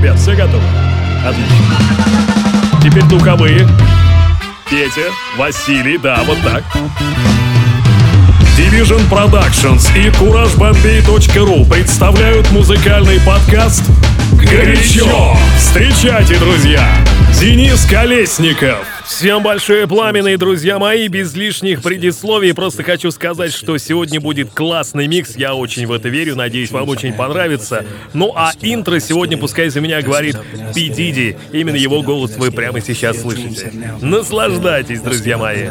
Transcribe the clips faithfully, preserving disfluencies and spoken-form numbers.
ребят, все готовы? Отлично. Теперь духовые. Петя, Василий, да, вот так. Division Productions и CourageBombay.ru представляют музыкальный подкаст «Горячо». Встречайте, друзья, Денис Колесников. Всем большое пламенные, друзья мои, без лишних предисловий. Просто хочу сказать, что сегодня будет классный микс. Я очень в это верю, надеюсь, вам очень понравится. Ну а интро сегодня пускай за меня говорит Пи Диди. Именно его голос вы прямо сейчас слышите. Наслаждайтесь, друзья мои.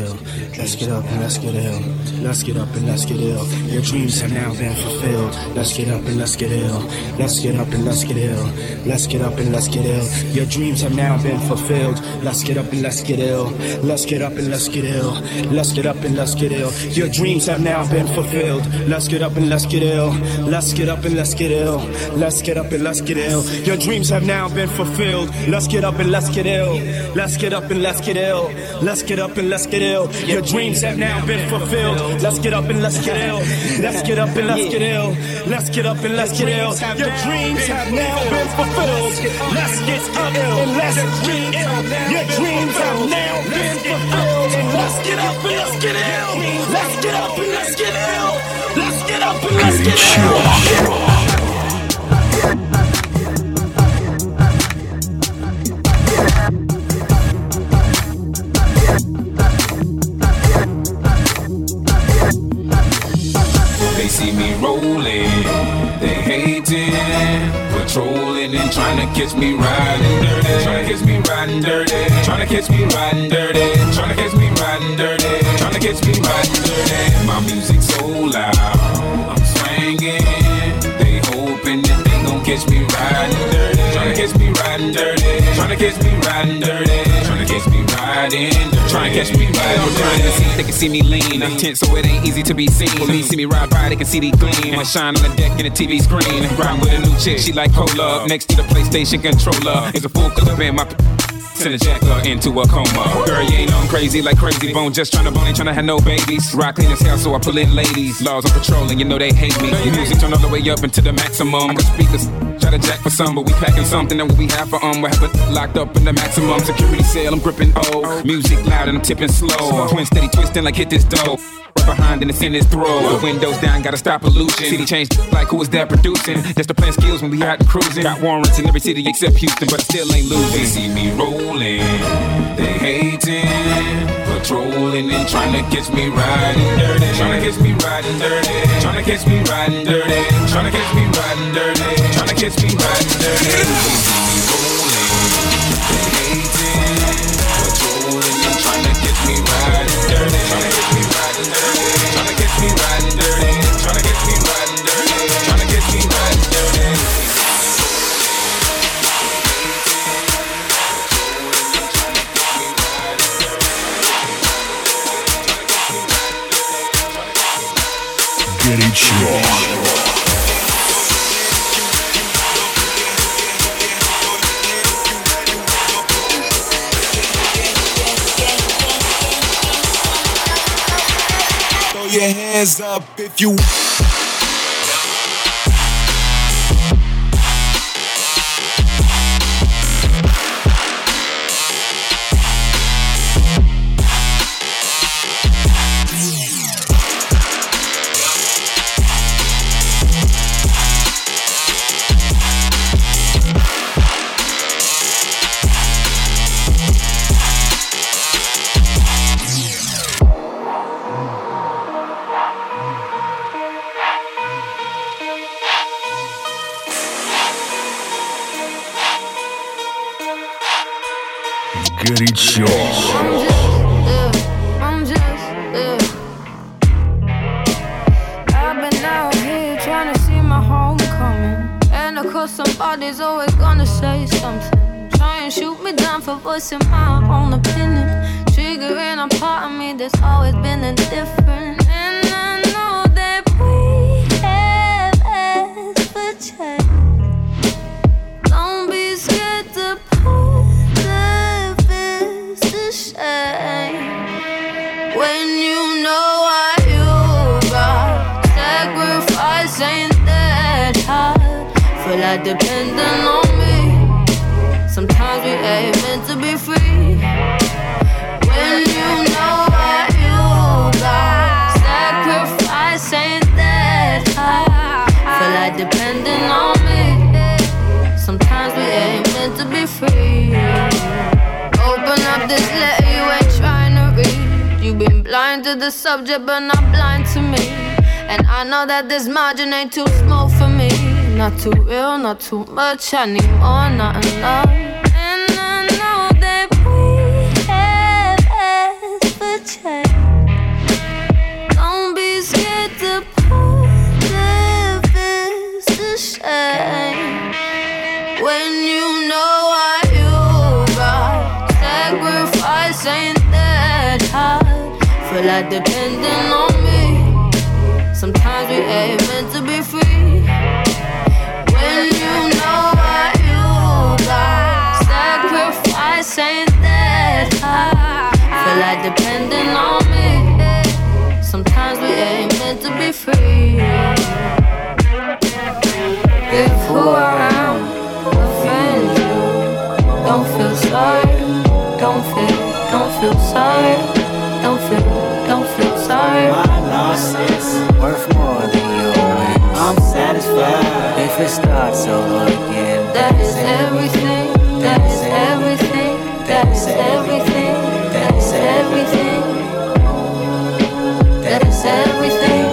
Let's get ill. Let's get up and let's get ill. Let's get up and let's get ill. Your dreams have now been fulfilled. Let's get up and let's get ill. Let's get up and let's get ill. Let's get up and let's get ill. Your dreams have now been fulfilled. Let's get up and let's get ill. Let's get up and let's get ill. Let's get up and let's get ill. Your dreams have now been fulfilled. Let's get up and let's get ill. Let's get up and let's get ill. Let's get up and let's get ill. Your dreams have now been fulfilled. Let's get up and let's get ill. Your dreams have now been fulfilled. Let's get up and let's get ill. Let's get up and let's get ill. Let's get up and let's get ill. They see me rolling, they hating, patrolling and trying to catch me riding dirty, trying to catch me riding dirty, trying to catch me riding dirty, trying to catch me riding dirty, trying to catch me riding dirty. My music so loud, I'm swinging. They hoping that they gon' catch me riding dirty, trying to catch me riding dirty, trying to catch me riding dirty, trying to catch me riding dirty. Trying to catch me riding dirty. They can see me lean, I'm tense, so it ain't easy to be seen. For me, see me ride by, they can see the gleam. I shine on the deck in the T V screen. Ride with a new chick, she like cola. Next to the PlayStation controller is a full clip in my. Send a jacker into a coma. Girl, you ain't on crazy like Crazy Bone. Just tryna bone, ain't tryna have no babies. Rock clean as hell, so I pull in ladies. Laws on patrol, and you know they hate me. Music turn all the way up into the maximum. I got speakers, try to jack for some, but we packing something that we have for um. We have it locked up in the maximum security cell. I'm gripping O. Music loud and I'm tipping slow. Twin steady twisting like hit this dough. Right behind and it's in his throat. The windows down, gotta stop pollution. City changed like who is that producing? Just the plan skills when we out and cruising. Got warrants in every city except Houston, but still ain't losing. They see me rolling, they hating, patrolling and trying to catch me riding dirty, trying to catch me riding dirty, trying to catch me riding dirty, trying to catch me riding dirty, trying to catch me riding dirty. They see me rolling, they hating, patrolling and trying to catch me riding dirty, trying to catch me riding dirty, trying to catch me riding dirty, trying to catch me riding dirty, trying to catch me riding dirty. Горячо. Throw your hands up if you Горячо. I'm just, yeah. I've been out here trying to see my homecoming. And of course somebody's always gonna say something. Try and shoot me down for voicing my own opinion. Triggering a part of me that's always been indifferent. And I know that we have asked for change. Don't be scared to put the fist to shame. When you know what you got, sacrifice ain't that hard. Feel like depending on me. Sometimes we ain't meant to be free. When you know what you got, sacrifice ain't that hard. Feel like depending on me. Sometimes we ain't meant to be free. Open up this letter you ain't trying to read. You've been blind to the subject but not blind to me. And I know that this margin ain't too small for me. Not too real, not too much, I need more, not enough. And I know that we have asked for change. Don't be scared to put the fist to shame. When you know what you got, sacrifice ain't that hard. Feel like depending on me. Sometimes we ain't meant to be free. When you know what you got, sacrifice ain't that hard. Feel like depending on me. Sometimes we ain't meant to be free. If who I am offends you, don't feel sorry. Don't feel, don't feel sorry. Don't feel, don't feel sorry. My loss is worth more than your wins. I'm satisfied if it starts over again. That is everything. That is everything. That is everything. That is everything. That is everything.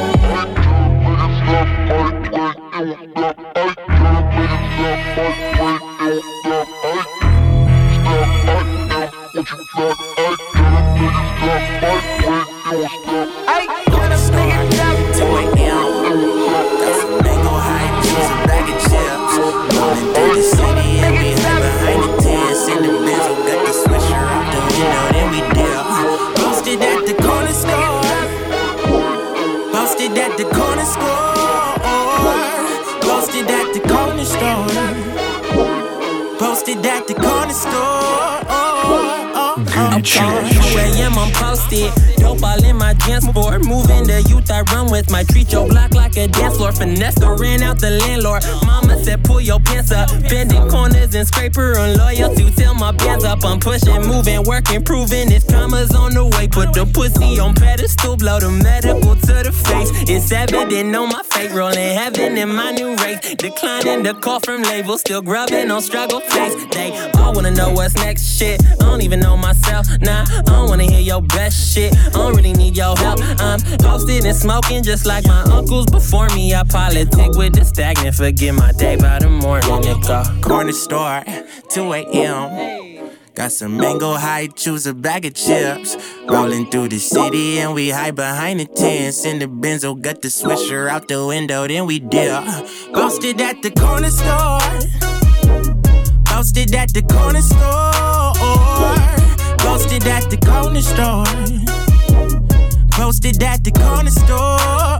I gonna sneak it up to a M. Got some mango high juice, a bag of chips. Rolling through the city and we hide behind the tents. In the Benzo, got the swisher out the window, then we dip. Posted at the corner store. Posted at the corner store. Posted at the corner store. Posted at the corner store. I'm two a.m. I'm posted. Dope all in my dance floor. Moving the youth I run with. My treat your block like a dance floor. Finesse or ran out the landlord. Mama said pull your pants up. Bending corners and scraper on loyalty till my bands up. I'm pushing, moving, working, proving this karma's on the way. Put the pussy on pedestal, blow the medical to the face. It's evident on my fate. Rolling heaven in my new race. Declining the call from labels. Still grubbing on struggle face. They all wanna know what's next shit. I don't even know myself. Nah, I don't wanna hear your best shit. I don't really need your help. I'm posted and smoking just like my uncles before me. I politic with the stagnant. Forget my day by the morning. Nigga. Corner store, two a.m. Got some mango high, choose a bag of chips. Rolling through the city and we hide behind the tents. In the Benzo, got the swisher out the window, then we dip. Posted at the corner store. Posted at the corner store. Posted at the corner store. Posted at the corner store.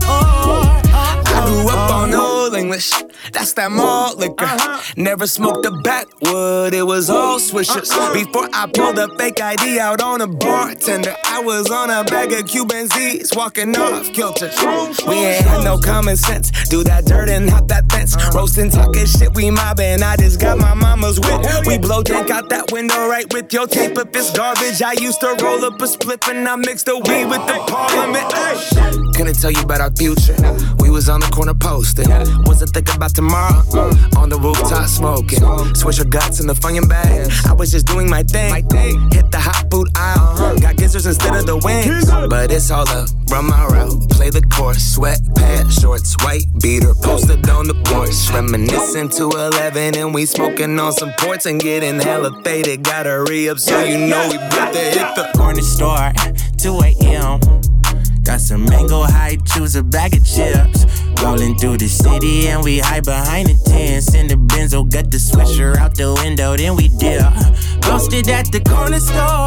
I grew up on Old English, that's that malt liquor. Uh-huh. Never smoked a backwood, it was all swishers. Uh-huh. Before I pulled a fake I D out on a bartender, I was on a bag of Cuban Z's, walking off kilter. We ain't had no common sense, do that dirt and hop that fence. Uh-huh. Roasting, talking shit, we mobbing, I just got my mama's whip. We blow drink out that window right with your tape if it's garbage. I used to roll up a spliff and I mixed the weed with the parliament. Ay. Couldn't tell you about our future, we was on the corner posting. Wasn't thinking about tomorrow, uh, on the rooftop smoking. Switch your guts in the fucking bag. I was just doing my thing. Hit the hot food aisle. Got gizzards instead of the wings. But it's all up, run my route. Play the course, sweatpants, shorts, white beater. Posted on the porch. Reminiscing to eleven and we smoking on some ports and getting hella faded. Gotta re-up so you know we about to hit the corner store, two a.m. Got some mango high, choose a bag of chips. Rolling through the city and we hide behind the tents. In the Benzo, got the swisher out the window, then we dip. Posted at the corner store.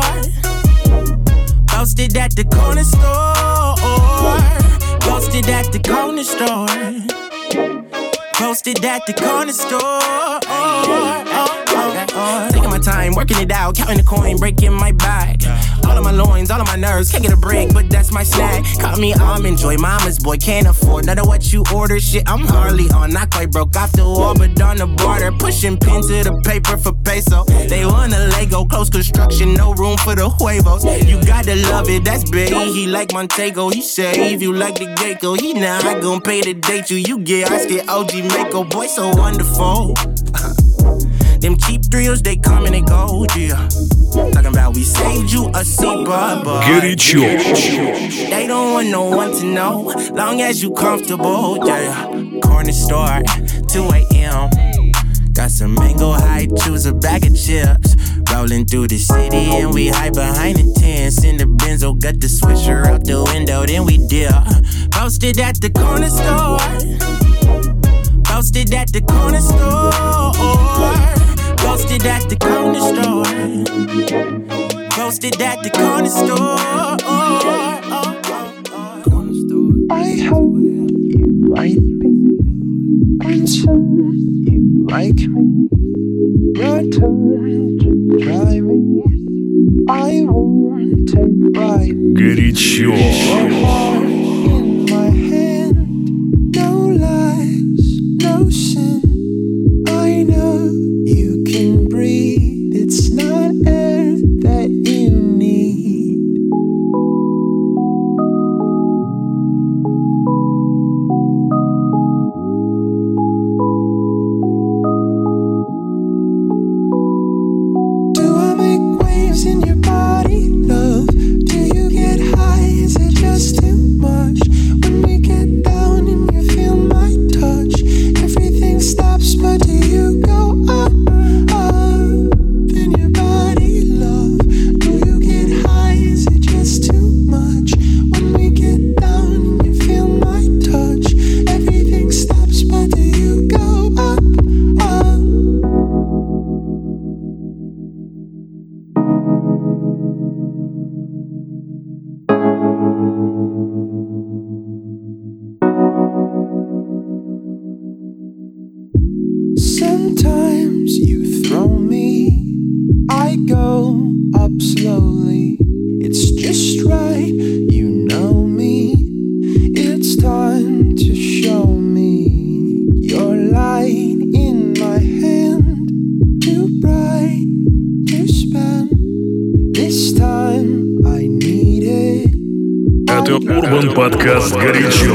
Posted at the corner store. Posted at the corner store. Posted at the corner store. Taking my time, working it out, counting the coin, breaking my back. All of my loins, all of my nerves, can't get a break, but that's my snack. Call me almond joy, mama's boy, can't afford none of what you order. Shit, I'm hardly on, not quite broke off the wall, but on the border, pushing pen to the paper for peso. They want a Lego, close construction, no room for the huevos. You gotta love it, that's big. He like Montego, he save you like the Gecko. He not gon' pay to date you. You get I get O G Mako, boy, so wonderful. Them cheap thrills, they come and they go, yeah. Talking about we saved you a seat, but, but Горячо. They don't want no one to know, long as you comfortable, yeah. Corner store, two a.m. Got some mango high, choose a bag of chips. Rolling through the city and we hide behind the tents. In the Benzo, got the swisher out the window, then we dip. Posted at the corner store. Posted at the corner store. Posted at the corner store. Posted at the corner store. I hope you might be concerned you like me. Your touch is driving. I won't take right. Горячо. In my hand, no lies, no sin. I know you can breathe. It's not air that you need. Do I make waves in your body, love? Do you get high? Is it just too much? When we get down and you feel my touch, everything stops, but do you go up, up in your body, love? Do you get high? Is it just too much? When we get down and you feel my touch, everything stops, but do you go up, up? Sometimes you throw me, I go up slowly. It's just right, you know me. It's time to show me your light in my hand. Too bright to spend. This time I need it. Это Урбан Подкаст «Горячо».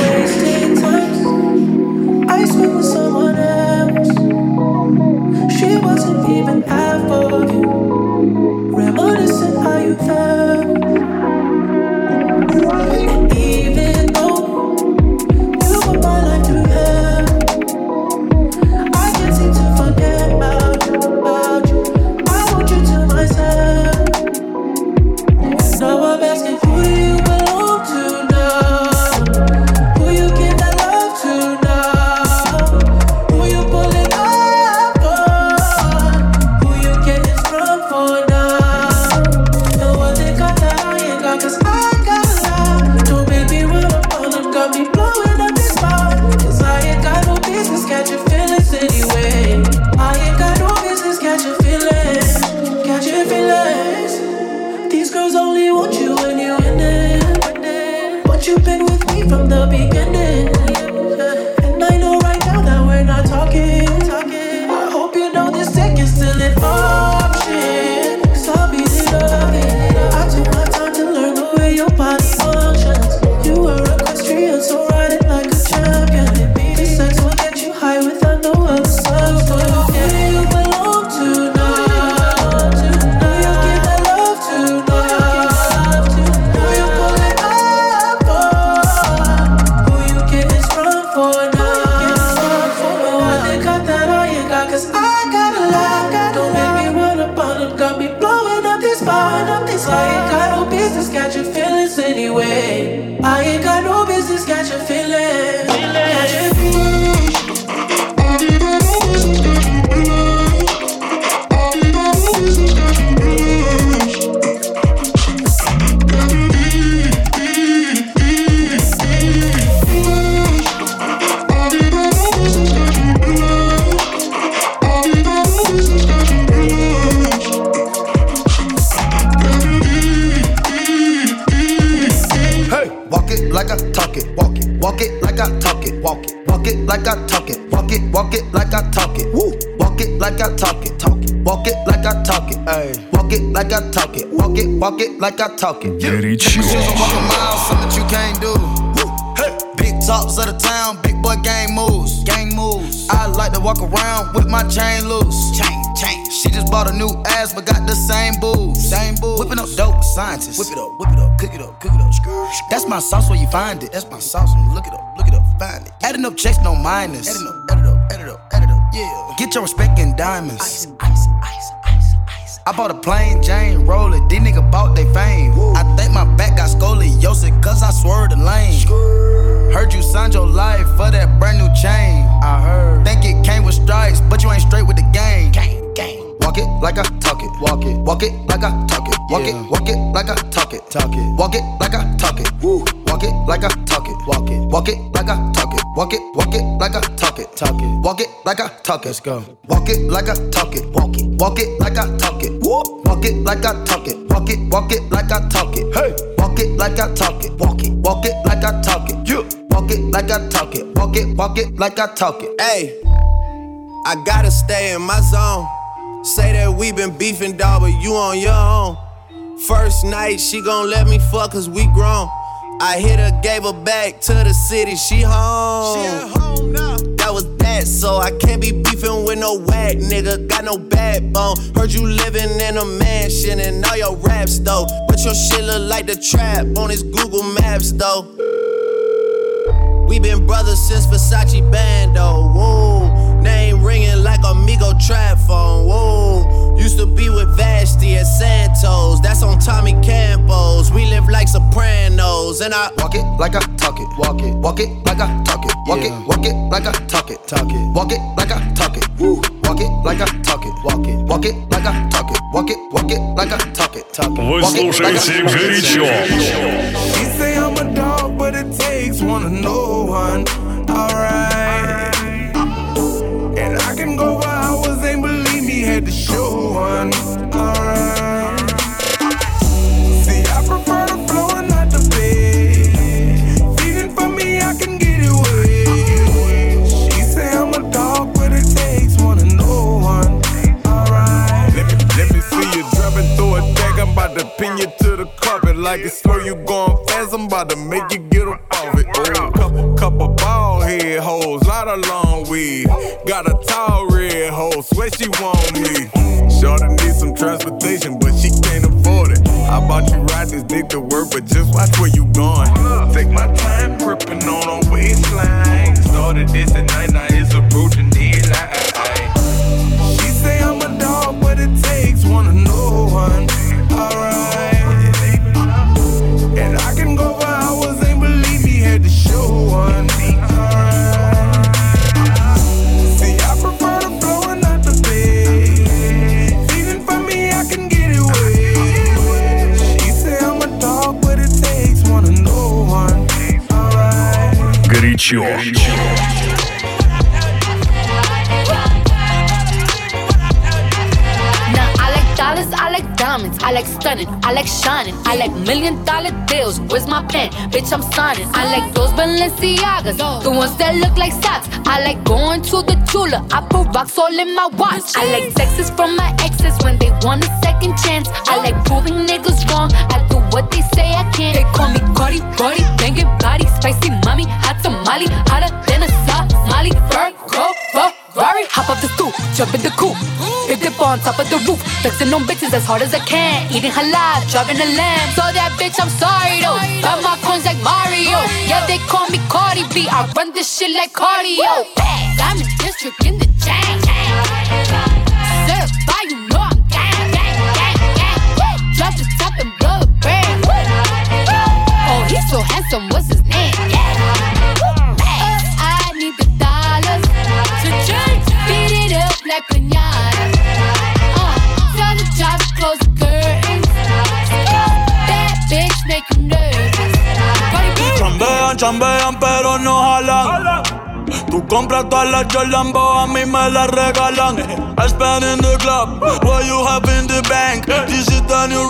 I spent with someone else. She wasn't even half of you. Reminiscent how you felt. Even though you put my life through hell, I can't seem to forget about you, about you. I want you to myself. Now I'm asking, who do you belong to now? Who you give that love to now? Who you pulling up for? Who you getting strong for now? No one they got that I ain't got, 'cause I got a lot. Don't make me run up on them, got me blowing up this spot. 'Cause I ain't got no business catching feelings anyway. I ain't got no business catching feelings, catching feelings. These girls only want you when you're in it, but you've been with me from the beginning. And I know right now that we're not talking. I hope you know this tech is still an option. 'Cause I'll be loving. I took my time to learn the way your body functions. You are equestrian, so ride it like a champion. This sex will get you high without no other substance. Who do you belong to now? Who you give that love to now? Who you pulling up for? like I talk it. Walk it, walk it like I talk it. Woo. Walk it like I talk it. Talk it. Walk it like I talk it. Ay. Walk it like I talk it. Walk it, walk it like I talk it. Горячо. Walk a mile, something that you can't do. Hey. Big tops of the town, big boy gang moves. Gang moves. I like to walk around with my chain loose. Chain, chain. She just bought a new ass, but got the same boobs. Same boobs. Whipping up dope scientists. Whip it up, whip it up, cook it up, cook it up. That's my sauce where you find it. That's my sauce when you look it up, look it up, find it. Adding up checks, no minus. Adding up, add it up, add it up, add it up, yeah. Get your respect in diamonds. Ice, ice, ice, ice, ice. I bought a plain Jane, roll it. These niggas bought they fame. Woo. I think my back got scoliosis, cause I swerved the lane. Skrr. Heard you signed your life for that brand new chain. I heard. Think it came with stripes, but you ain't straight with the game. Gang, gang. Walk it like I talk it. Walk it. Walk it like I talk it. Walk yeah. it. Walk it like I talk it. Talk it. Walk it like I talk it. Woo. Walk it like I talk it. Walk it. Walk it like I talk it. Walk it. Walk it like I talk it. Talk it. Walk it like I talk it. Let's go. Walk it like I talk it. Walk it. Walk it like I talk it. Woo. Walk it like I talk it. Walk it. Walk it like I talk it. Hey. Walk it like I talk it. Walk it. Walk it like I talk it. Yeah. Walk it like I talk it. Walk it. Walk it like I talk it. Hey. I gotta stay in my zone. Say that we been beefing, dawg, but you on your own. First night, she gon' let me fuck cause we grown. I hit her, gave her back to the city, she home. She at home now. That was that, so I can't be beefing with no whack nigga. Got no backbone. Heard you living in a mansion and all your raps though. But your shit look like the trap on his Google Maps though. We been brothers since Versace Bando, whoa. Name ringing like Amigo trap phone, whoa. Used to be with Vashti at Santos, that's on Tommy Campos. We live like Sopranos, and I walk it like I talk it, walk it, walk it like I talk it, walk yeah. it, walk it like I talk it, talk it, walk it like I talk it, woo. Walk it like I talk it, walk it, walk it like I talk it, walk it, walk it like I talk it, talk it. Вы слушаете горячо. You say I'm a dog, but it takes one to know one. Alright. And I can go for hours, ain't believe me, had to show one. Alright. See, I prefer the flow and not the bed. Feeding for me, I can get it wet. She say I'm a dog, but it takes one to know one. Alright. Let me, let me see you dropping through a deck. I'm about to pin you to the carpet. Like it's slow, you going fast, I'm about to make you get up off it. Oh, couple, couple bald head hoes, lot of long weed. Got a tall red hoe, swear she want me. Shorty needs some transportation, but she can't afford it. How about you ride this dick to work, but just watch where you going. Take my time, gripping on her waistline. Started this at night, now it's approaching daylight. She say I'm a dog, but it takes one to know one. Alright. And I can go for hours, ain't believe me, had to show one. Горячо. Dollars, I like diamonds, I like stunning, I like shining, I like million dollar deals. Where's my pen? Bitch, I'm signing. I like those Balenciagas, the ones that look like socks. I like going to the Tula, I put rocks all in my watch. I like texts from my exes when they want a second chance. I like proving niggas wrong, I do what they say I can't. They call me Cardi, Cardi, banging body, spicy mommy, hot tamale, hotter than a Somali. Virgo, Ferrari, hop off the stoop, jump in the coupe. Big dip on top of the roof, flexing on bitches as hard as I can. Eating halal, driving a lamb. So that bitch, I'm sorry though. Got my coins like Mario. Yeah, they call me Cardi B. I run this shit like cardio. Diamond district in the chain. Certified, you know I'm gang, gang, gang, gang. Drop the top and blow the brand. Oh, he's so handsome, what's his name? I need the dollars to change. Beat it up like piñata. Close the curtains. That bitch make you nervous. Chambean, chambean, pero no jalan. Tú compras todas las Jordan, a mí me las regalan. I spend in the club, what you have in the bank. This is the new religion.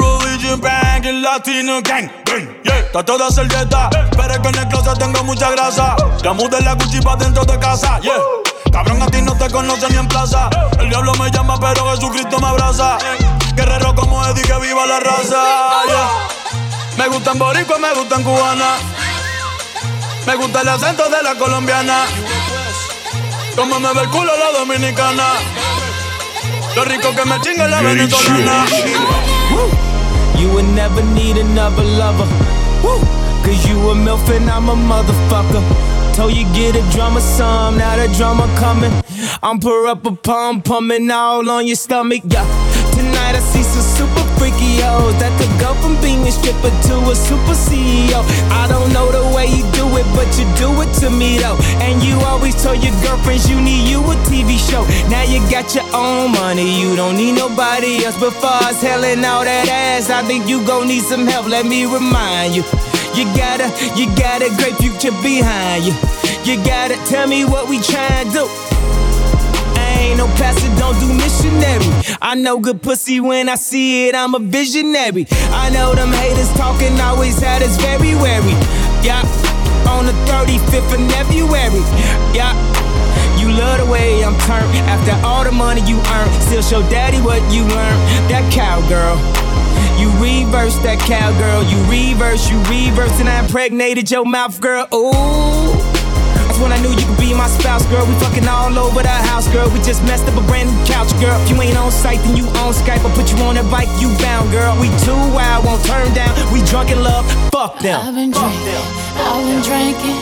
Gucci bang, el latino gang, bang, yeah. Trato de hacer dieta, pero es que en el closet tengo mucha grasa. Ya mudé la Gucci pa' dentro de casa, yeah. Cabrón, a ti no te conocen ni en plaza. El diablo me llama, pero Jesucristo me abraza. Guerrero como Eddie, que viva la raza, yeah. Me gustan boricua, me gustan cubana. Me gusta el acento de la colombiana. Como me ve el culo la dominicana. Lo rico que me chinga la venezolana. You would never need another lover. Woo. Cause you a MILF and I'm a motherfucker. Told you get a drummer some, now the drummer coming. I'm pour up a pump, pumping all on your stomach, yeah. Tonight I see some super freaky hoes that could go from being a stripper to a super C E O. I don't know the way you do it, but you do it to me though. And you always told your girlfriends you need you a T V show. Now you got your own money, you don't need nobody else. But far as hellin' all that ass, I think you gon' need some help, let me remind you. You got a, you got a great future behind you. You gotta tell me what we tryin' to do. I ain't no pastor, don't do missionary. I know good pussy when I see it, I'm a visionary. I know them haters talking always had us very wary. Yeah, on the thirty-fifth of February. Yeah, you love the way I'm turned. After all the money you earn, still show daddy what you learned. That cowgirl. You reverse that cowgirl, you reverse, you reverse, and I impregnated your mouth, girl. Ooh, that's when I knew you could be my spouse, girl. We fucking all over the house, girl. We just messed up a brand new couch, girl. If you ain't on site, then you on Skype. I'll put you on that bike, you bound, girl. We too wild, won't turn down. We drunk in love, fuck them. I've been drinking, I've been drinking.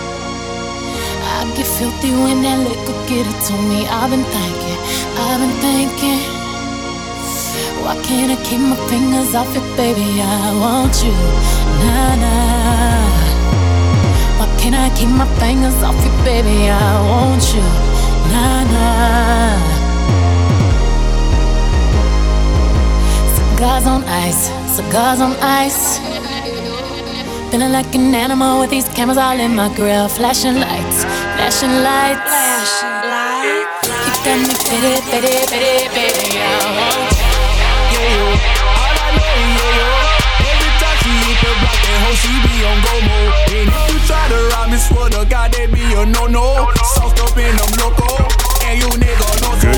I get filthy when that liquor get it to me. I've been thinking, I've been thinking. Why can't I keep my fingers off it, baby? I want you, nah, nah. Why can't I keep my fingers off it, baby? I want you, nah, nah. Cigars on ice, cigars on ice. Feeling like an animal with these cameras all in my grill. Flashing lights, flashing lights. Flashing lights. You got me pity, pity, pity, pity. I want you. All I know, yeah, yo. Every time she hit the block, that hoe she be on go mode. And if you try to rob me, swear to God, that be a no-no. Sauced up in them loco, and you nigga know so.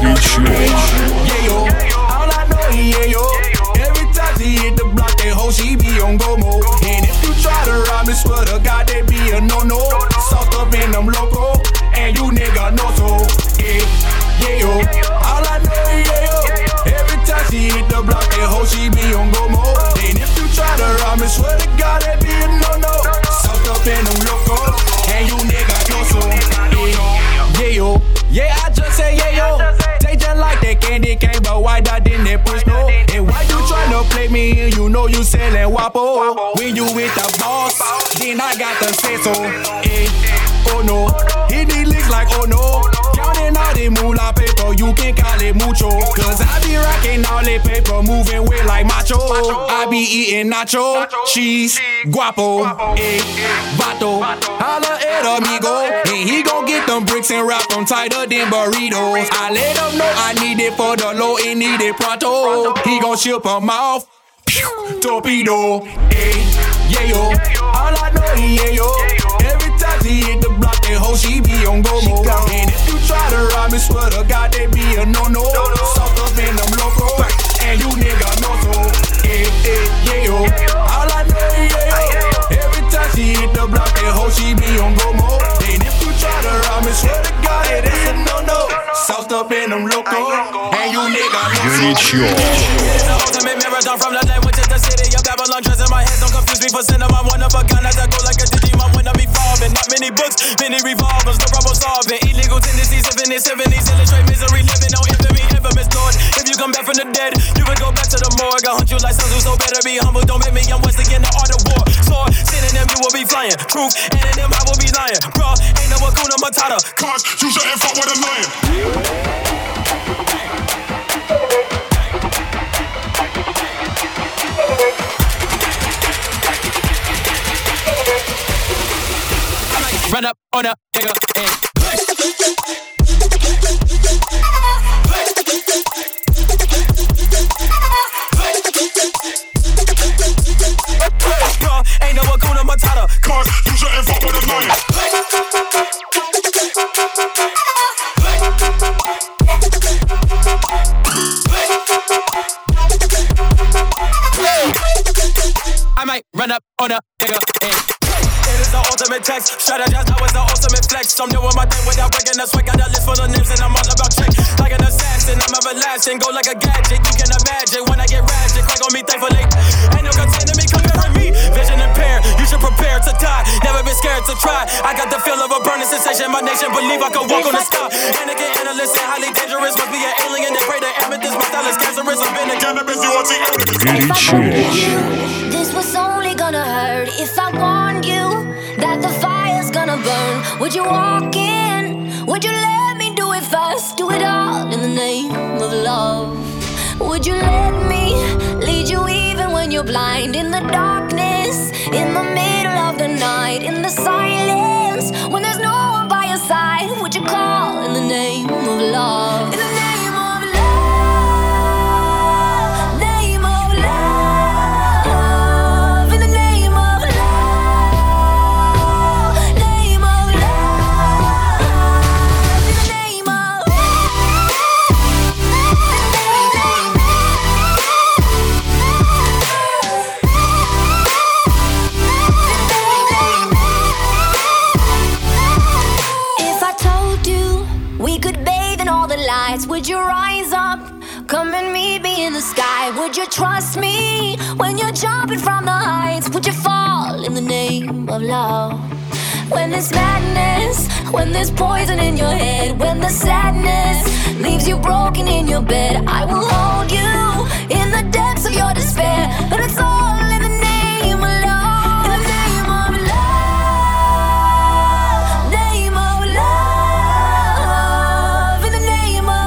Yeah, yo. All I know, yeah, yo. Every time she hit the block, that hoe she be on go mode. And if you try to rob me, swear to God, that be a no-no. Sauced up in them loco, and you nigga know so. Yeah, yeah, yo. All I know, yeah, yo. Every time she hit the block, that hoe she be on go mode. And if you try to rob me, swear to God, that be a no-no. Sauced up in them loco, and you nigga know so. Yeah, yeah, yo. Yeah, I just say yeah, yo. They just like that candy cane, but why that didn't they push no? And why you tryna play me and you know you sellin' Wapo? When you with the boss, then I got the say so. Eh, oh no, hit these licks like oh no. Counting all the moolah paper, you can call it mucho. Cause I be rocking all the paper, moving weight like macho. I be eating nacho, cheese, guapo, eh, vato. Holla at amigo, and he gon' get them bricks and wrap them tighter than burritos. I let him know I need it for the low and need it pronto. He gon' ship them off, pew, torpedo, eh, yeah yo. All I know is yeah yo. Every time she hit the block, that hoe she be on go mode. And if you try to rob me, swear to God, they be a no-no. Sauced up in them loco, and you nigga know so. Eh, eh, yeah yo. All I know is yeah yo. Every time she hit the block, that hoe she be on go mode. And if you try to rob me, swear to God, it is a no-no. Sauced up in them loco, and you nigga know so. It's the ultimate marathon from the land, which is the city of Babylon. Dress in my head, don't confuse me for cinema. I'm one of a kind, as I go like a Digimon when I be falling. Not many books, many revolvers, no problem solving. Illegal tendencies, infinite seventies, illustrate misery, living on infamy, infamous Lord. If you come back from the dead, you would go back to the morgue. I hunt you like Sun Tzu, so better be humble. Don't make me young Wesley in the art of war. Sword, sitting them, you will be flying. Truth, and in them, I will be lying. Bro, ain't no Hakuna Matata. Cause you shouldn't fuck with a lion. Run up on a nigga and on a nigga. And it is the ultimate text. Strategize now is the ultimate flex. I'm doing my thing without breaking the sweat. Got a list full of names and I'm all about check. Like an assassin, I'm everlasting. Go like a gadget, you can imagine. When I get ratchet, crack on me thankfully. Ain't no contending me, comparing me. Vision impaired, you should prepare to die. Never been scared to try. I got the feel of a burning sensation. My nation believe I could walk on the sky. Anakin, analyst, and highly dangerous. Must be an alien that pray to amethyst. My style is cancerous. I've been a cannabis, you want to see. This was only gonna hurt if I warned you that the fire's gonna burn. Would you walk in? Would you let me do it first? Do it all in the name of love. Would you let me lead you even when you're blind? In the darkness, in the middle of the night, in the silence, when there's no one by your side. Would you call in the name of love? In the name would you rise up, come and meet me in the sky? Would you trust me when you're jumping from the heights? Would you fall in the name of love? When there's madness, when there's poison in your head, when the sadness leaves you broken in your bed, I will hold you in the depths of your despair. But it's all in the name of love. In the name of love. Name of love. In the name of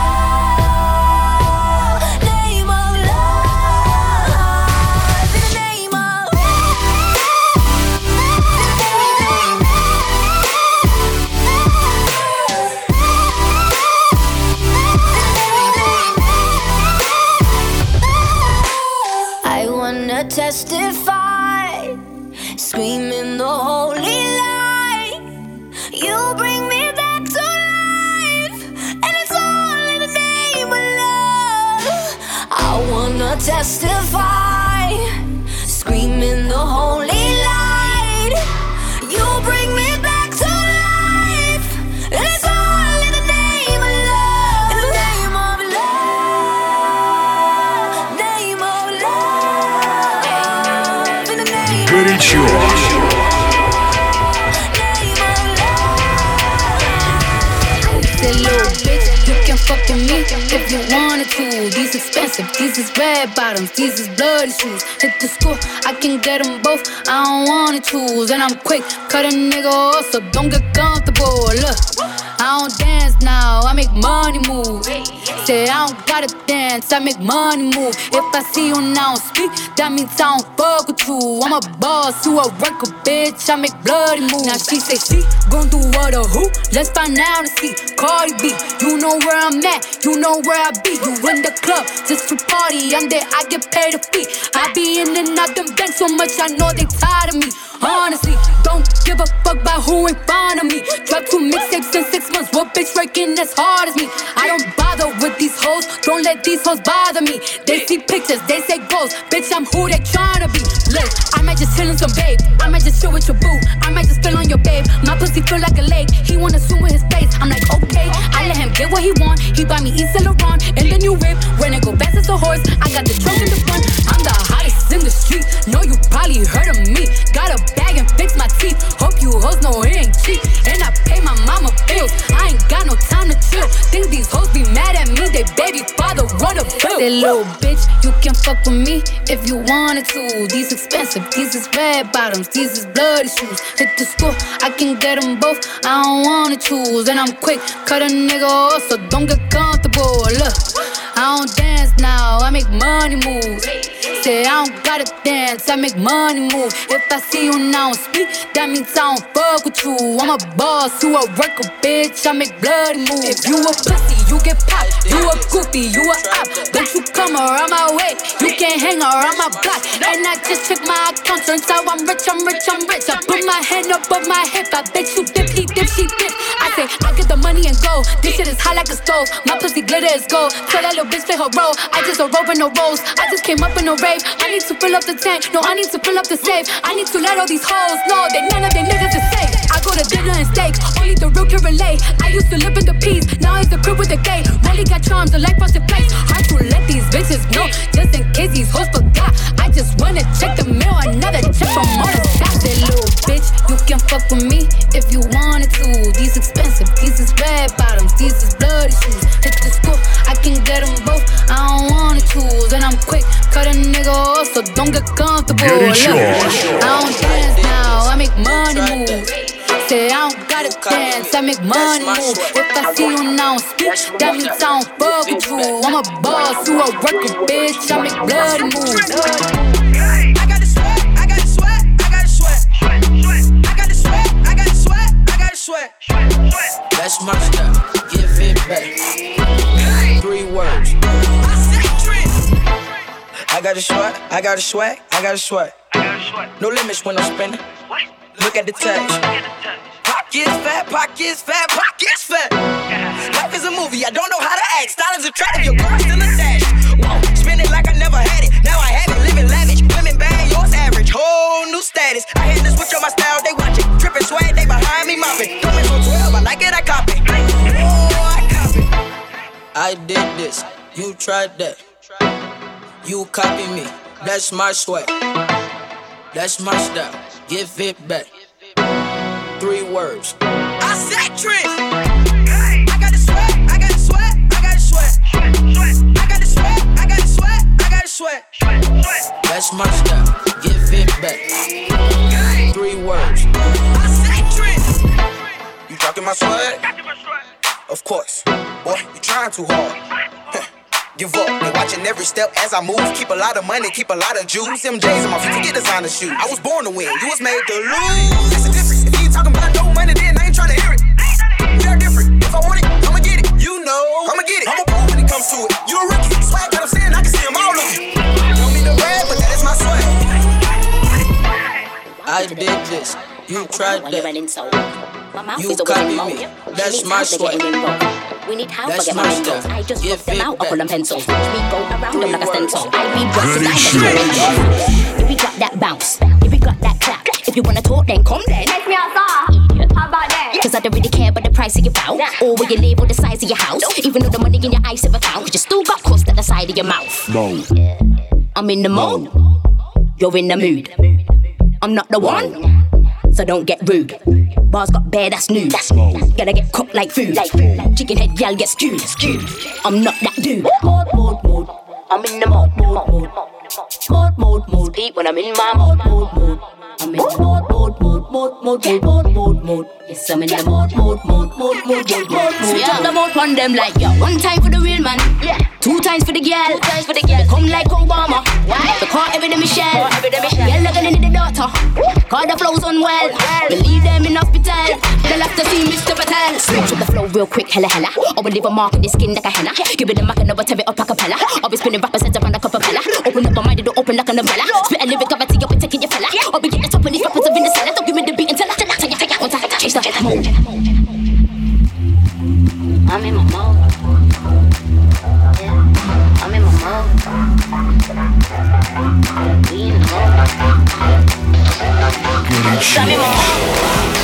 testify, screaming the holy light. You bring me back to life, and it's all in the name of love. I wanna testify, screaming the holy light. You bring me back to life, and it's all in the name of love. In the name of love, name of love. Горячо. Fuck with me if you wanted to. These expensive, these is red bottoms, these is bloody shoes. Hit the school, I can get them both, I don't wanna choose. And I'm quick, cut a nigga off, so don't get comfortable. Look, I don't dance now, I make money move. Say I don't gotta dance, I make money move. If I see you now speak, that means I don't fuck with you. I'm a boss, you a worker, bitch, I make bloody moves. Now she say she gon' do what or who? Let's find out and see. Cardi B, you know where I'm at, you know where I be. You in the club, just to party, I'm there, I get paid a fee. I be in and out them banks so much, I know they tired of me. Honestly, don't give a fuck about who in front of me. Drop two mixtapes in six months, what bitch working as hard as me? I don't bother with these hoes, don't let these hoes bother me. They see pictures, they say goals, bitch I'm who they tryna be. Look, I might just chill in some babe, I might just chill with your boo, I might just spill on your babe. My pussy feel like a lake, he wanna swim with his face. I'm like okay, I let him get what he want. He buy me Yves Saint Laurent and the new whip. When it go fast as a horse, I got the trunk in the front. I'm the hottest in the street, know you probably heard of me. Got a bag and fix my teeth, hope you hoes know it ain't cheap. And I pay my mama bills, I ain't got no time to chill. Think these hoes be mad at me, they baby father wanna bill. That little bitch, you can fuck with me if you wanted to. These expensive, these is red bottoms, these is bloody shoes. Hit the school, I can get them both, I don't wanna choose. And I'm quick, cut a nigga off, so don't get comfortable. Look, I don't dance now, I make money move. Say I don't gotta dance, I make money move. If I see you now speak, that means I don't fuck with you. I'm a boss, you a worker, bitch, I make bloody moves. If you a pussy, you get popped. You a goofy, you a op. Don't you come around my way, you can't hang around my block. And I just check my account, turns out I'm rich, I'm rich, I'm rich. I put my hand above my hip, I bet you dip, he dip, she dip. I say, I get the money and go. This shit is hot like a stove. My pussy glitter is gold. Tell that little bitch play her role. I just a rope and no rolls. I just came up in a rave. I need to fill up the tank. No, I need to fill up the safe. I need to let all these hoes know that none of them niggas is safe. I go to dinner and steak. Only the real can relate. I used to live in the peace. Now it's the crib with the gay. Rolly got charms, the life frosted place. Hard to let these bitches know. Just in case these hoes forgot. I just wanna check the mail. Another check from all the stocks. That little bitch, you can fuck with me if you wanted to. These expensive, these is red bottoms, these is bloody shoes. Hit the school, I can get them both. I don't wanna choose, and I'm quick, cut a nigga off, so don't get comfortable. Look, I don't dance now, I make money move. Say I don't gotta dance, I make money move. If I see you now speak, that means I don't fuck with you. I'm a boss, you a worker, bitch. I make bloody moves. I got the sweat, I got the sweat, I got the sweat. I got the sweat, I got the sweat, I got the sweat. That's my style, give it back. Three words. I got the sweat, I got the sweat, I got the sweat. No limits when I'm spending. Look at the text. Pockets fat, pockets fat, pockets fat. Life is a movie, I don't know how to act. Style is a trap, your girl still attached. Whoa, spend it like I never had it. Now I have it, living lavish. Women bad, yours average. Whole new status. I had to switch on my style, they watch it. Trippin' swag, they behind me mopping. Thumbing on twelve, I like it, I copy. Oh, I copy. I did this, you tried that. You copy me, that's my swag. That's my style, give it back. Three words. I said Trent. I got the sweat, I got the sweat, I got the sweat. I got the sweat, I got the sweat, I got the sweat. That's my style, give it back. Three words. I said Trent. You talking my swag? Of course. Boy, you trying too hard. Give up, they watching every step as I move. Keep a lot of money, keep a lot of juice. M J's on my feet, forget designer shoes. I was born to win, you was made to lose. That's the difference. If you ain't talking about no money, then I ain't trying to hear it. We are different. If I want it, I'ma get it. You know, I'ma get it. I'm a pro when it comes to it. You a rookie, swag, got them saying I can see them all of you. Don't need to brag, but that is my swag. I did this, you tried that. You copy me, that's my swag. We need help for get my mentos. I just rock them out, I'll them pencils. Watch me go around them like a stencil. I be dressed like a if we got that bounce, if we got that clap. If you wanna talk, then come then. Take me outside. How about that? Cause I don't really care about the price of your bout, or where you live, or the size of your house. Even though the money in your eyes never count, cause you still got crust at the side of your mouth. Yeah. I'm in the mode, you're in the mood. I'm not the one, so don't get rude. Bars got bare, that's new. That's gotta get cooked like food. Like food. Chicken head, y'all get stewed. Stewed. I'm not that dude. Mode, mode, mode. I'm in the mode, mode, mode. Mode, mode, mode. Speak when I'm in my mode, mode, mode. I'm in the mode, mode, mode, mode, mode, mode, mode, mode. Yes, I'm in the mode, mode, mode, mode, mode, mode, mode. Switch up the mode on them like yo. One time for the real man. Yeah. Two times for the girl. Two times for the girl. Come like Obama. Why? The car every day Michelle. Girl looking into the daughter. Call the flows on well. Believe them in hospital. They'll have to see Mister Patel. Switch up the flow real quick, hella hella. Or we leave a mark on the skin like a henna. Give it a mark and never tear it up a cappella. Or we spinning rappers heads around like a propeller. Open up my mind, it'll open like an umbrella. Spit a lyric, I'll take up and taking your fella. Or we get the top of these rappers up in the cellar. Don't give me the beat until I tell you, take it on time. Change the mode. I'm in my mode. Yeah, I'm in my mode. We in the mode. I'm in my mode.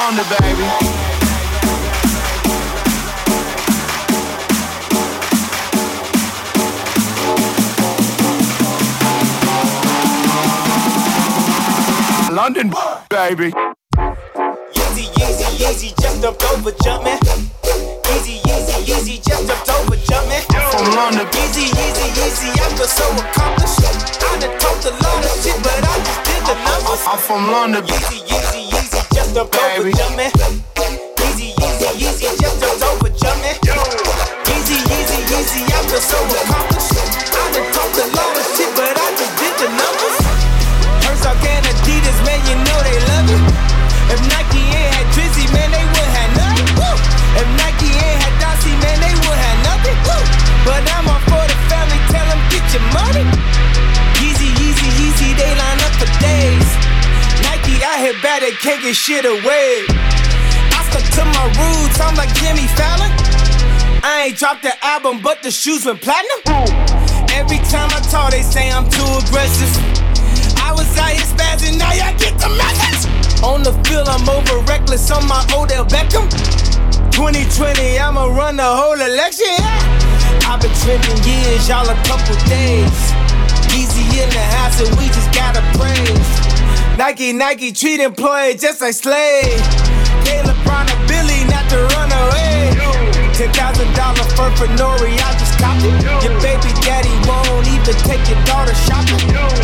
London, baby. London, baby. Easy, easy, easy, just jumped over, jumpin'. Easy, easy, easy, just jumped over, jumpin'. From London. Easy, easy, easy, I feel so accomplished. I done talked a lot of shit, but I just did the numbers. I'm from London. Easy, easy, easy, just jumped over, jumpin'. Easy, easy, easy, just jumped over, jumpin'. Easy, easy, easy, I feel so accomplished. I done talked a lot of shit, but I just did the numbers. Herzog and Adidas, man, you know they love it. If Nike ain't had Drizzy, man, they wouldn't have nothing. Woo! If Nike ain't had Dossie, man, they wouldn't have nothing. Woo! But I'm all for the family, tell them get your money. Easy, easy, easy, they line up for days. Nike out here bad, they can't get shit away. I stuck to my roots, I'm like Jimmy Fallon. I ain't dropped the album, but the shoes went platinum. Every time I talk, they say I'm too aggressive. I was out here spazzing, now y'all get the message. On the field, I'm over reckless on my Odell Beckham. twenty twenty, I'ma run the whole election. Yeah. I've been trending years, y'all a couple days. Easy in the house, and we just gotta praise. Nike, Nike treat employees just like slaves. Hey, LeBron and Billy, not to run away. Ten thousand dollars for Fenori, I just copped it. Your baby daddy won't even take your daughter shopping.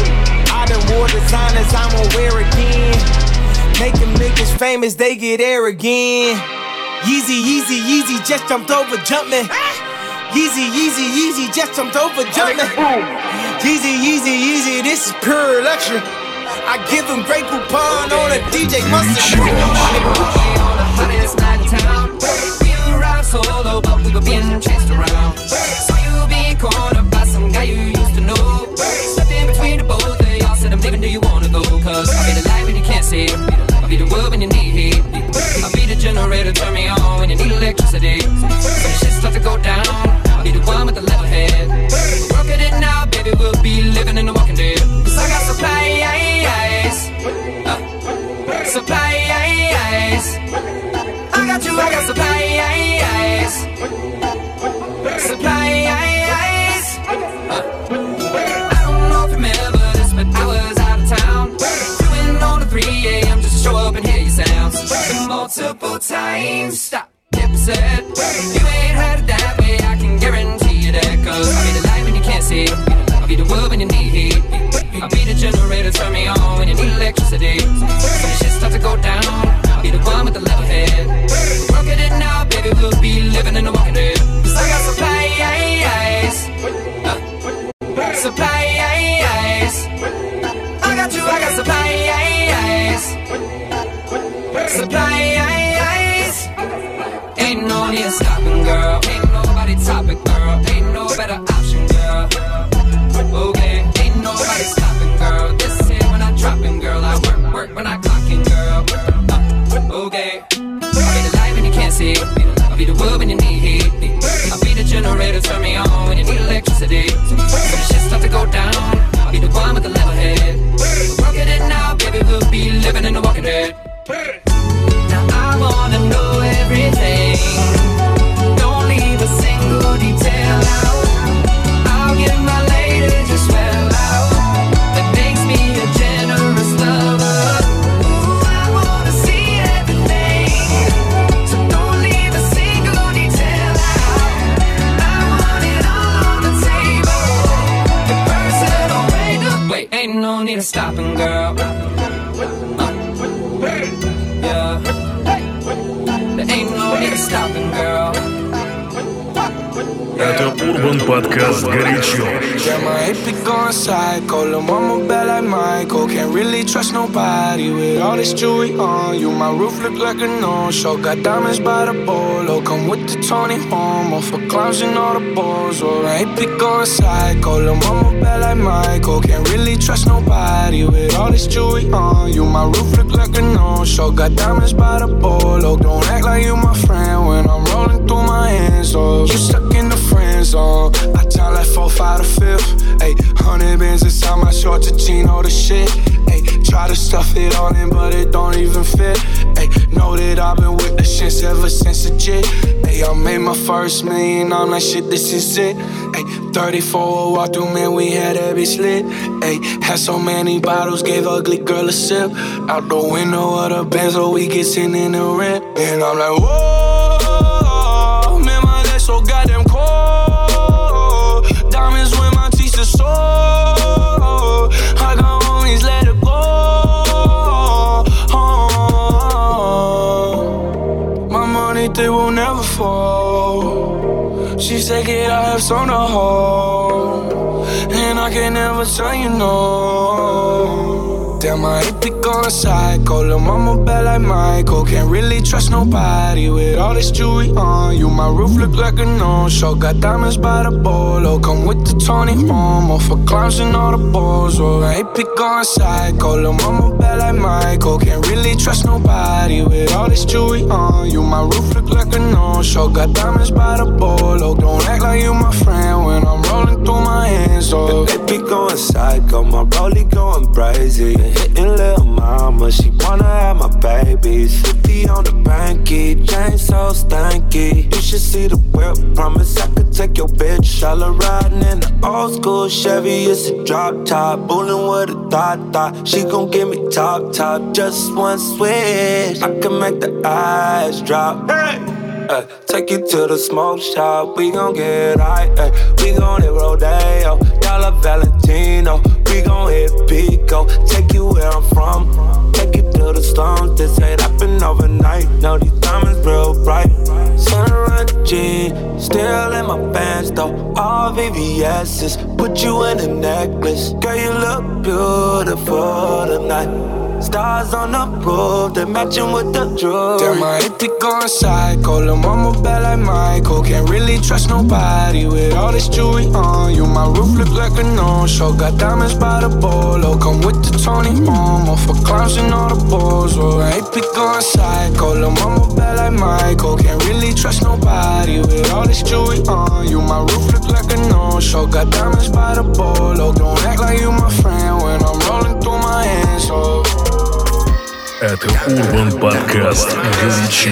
I done wore designers, I'm gonna wear again. Making niggas famous, they get arrogant. Yeezy, Yeezy, Yeezy, just jumped over, jumpin'. Yeezy, Yeezy, Yeezy, just jumped over, jumpin'. Yeezy, Yeezy, Yeezy, this is pure luxury. I give him great coupon on a D J Mustard. On the hottest night in town, we arrived solo, but we were being chased around. So you being cornered by some guy you used to know. Stepped in between the both of y'all, said I'm leaving, do you wanna go? Cause I'll be the light when you can't see. I'll be the wood when you need heat. I'll be the generator, turn me on when you need electricity. When the shit start to go down, I'll be the one with the level head. Work at it now, baby, we'll be living in the walking dead. Cause I got supplies, uh, supplies. I got you, I got supplies, supplies. Uh, I don't know if you remember this, but I was out of town. Doing on the three a.m. just to show up and hear your sounds. Multiple times, stop, get percent. You ain't heard it that way, I can guarantee you that. Cause I'll be the light when you can't see. I'll be the wood when you need heat. I'll be the generator, turn me on when you need electricity. When the shit start to go down, I'll be the one with the level head. Work at it now, baby, we'll be living in the walking dead. Cause I got supplies, uh, supplies. I got you, I got supplies, supplies. Ain't no need to stopping, girl. Ain't nobody topping, girl. Ain't no better option, girl. Okay, ain't nobody stopping, girl. This here when I dropping, girl. I work, work when I clocking, girl. Uh, okay, I'll be the light when you can't see. I'll be the wood when you need heat. I'll be the generator, turn me on when you need electricity. When the shit start to go down, I'll be the one with the level head. Work at it now, baby, we'll be living in the walking dead. Now I wanna know everything. Don't leave a single detail out. I'll give my lady just well out. That makes me a generous lover. Ooh, I wanna see everything. So don't leave a single detail out. I want it all on the table. The personal way to wait. Ain't no need to stopping, girl. Uh, yeah. There ain't no need to stopping, girl. Это Урбан Подкаст «Горячо». Yeah, my A P going psycho. Lil' mama bad like Michael. Can't really trust nobody with all this jewelry on you. My roof look like a no-show. Got diamonds by the bolo. Come with the Tony Homo for clowns and all the balls. Oh, my A P going psycho. Lil' mama bad like Michael. Can't really trust nobody with all this jewelry on you. My roof look like a no-show. Got diamonds by the bolo. Don't act like you my friend when I'm rolling through my hands. Oh, you stuck in the friend zone. I time like four, five to fifth. Ayy, hundred bands inside my shorts, a chino the shit. Ayy, Try to stuff it all in, but it don't even fit. Ay, know that I've been with the shits ever since the jit. Ay, I made my first million, I'm like, shit, this is it. Ay, thirty-four walk through, man, we had that bitch lit. Ay, had so many bottles, gave ugly girl a sip. Out the window of the Benz, so we get sitting in the rent. And I'm like, whoa, man, my legs so goddamn cold. Diamonds when my teeth are sore. I got homies, let it go. Oh, my money, they will never fall. She said, kid, I have some to hold, and I can never tell you no. Damn, I hate to go on psycho. Lil' mama bad like Michael. Can't really trust nobody with all this jewelry on you. My roof look like a no-show. Got diamonds by the bolo. Come with the Tony Momo for clowns and all the balls. Oh, I hate to go on psycho. Lil' mama bad like Michael. Can't really trust nobody with all this jewelry on you. My roof look like a no-show. Got diamonds by the bolo. Don't act like you my friend when I'm rolling through my hands. Oh, they be going psycho. My rollie going crazy. Hitting lil' mama, she wanna have my babies. fifty on the banky, chain so stanky. You should see the whip, promise I could take your bitch. All her riding in the old school Chevy, it's a drop top. Bullin' with a thought thought, she gon' give me top top. Just one switch, I can make the eyes drop. Hey! Uh, take you to the smoke shop, we gon' get high, uh, we gon' hit Rodeo, Dollar Valentino, we gon' hit Pico, take you where I'm from, take you to the slums, this ain't happen overnight, know these diamonds real bright, Sunrun jeans, still in my pants though, all V V S's, put you in a necklace, girl you look beautiful tonight. Stars on the roof, they matching with the jewelry. Damn, I hate to go on psycho. Lil' mama bad like Michael. Can't really trust nobody with all this jewelry on you. My roof look like a no-show. Got diamonds by the bolo. Come with the Tony Momo for clowns and all the balls. Oh, I hate to go on psycho. Lil' mama bad like Michael. Can't really trust nobody with all this jewelry on you. My roof look like a no-show. Got diamonds by the bolo. Don't act like you my friend when I'm rolling through my hands. Oh. Это Urban Podcast «Горячо».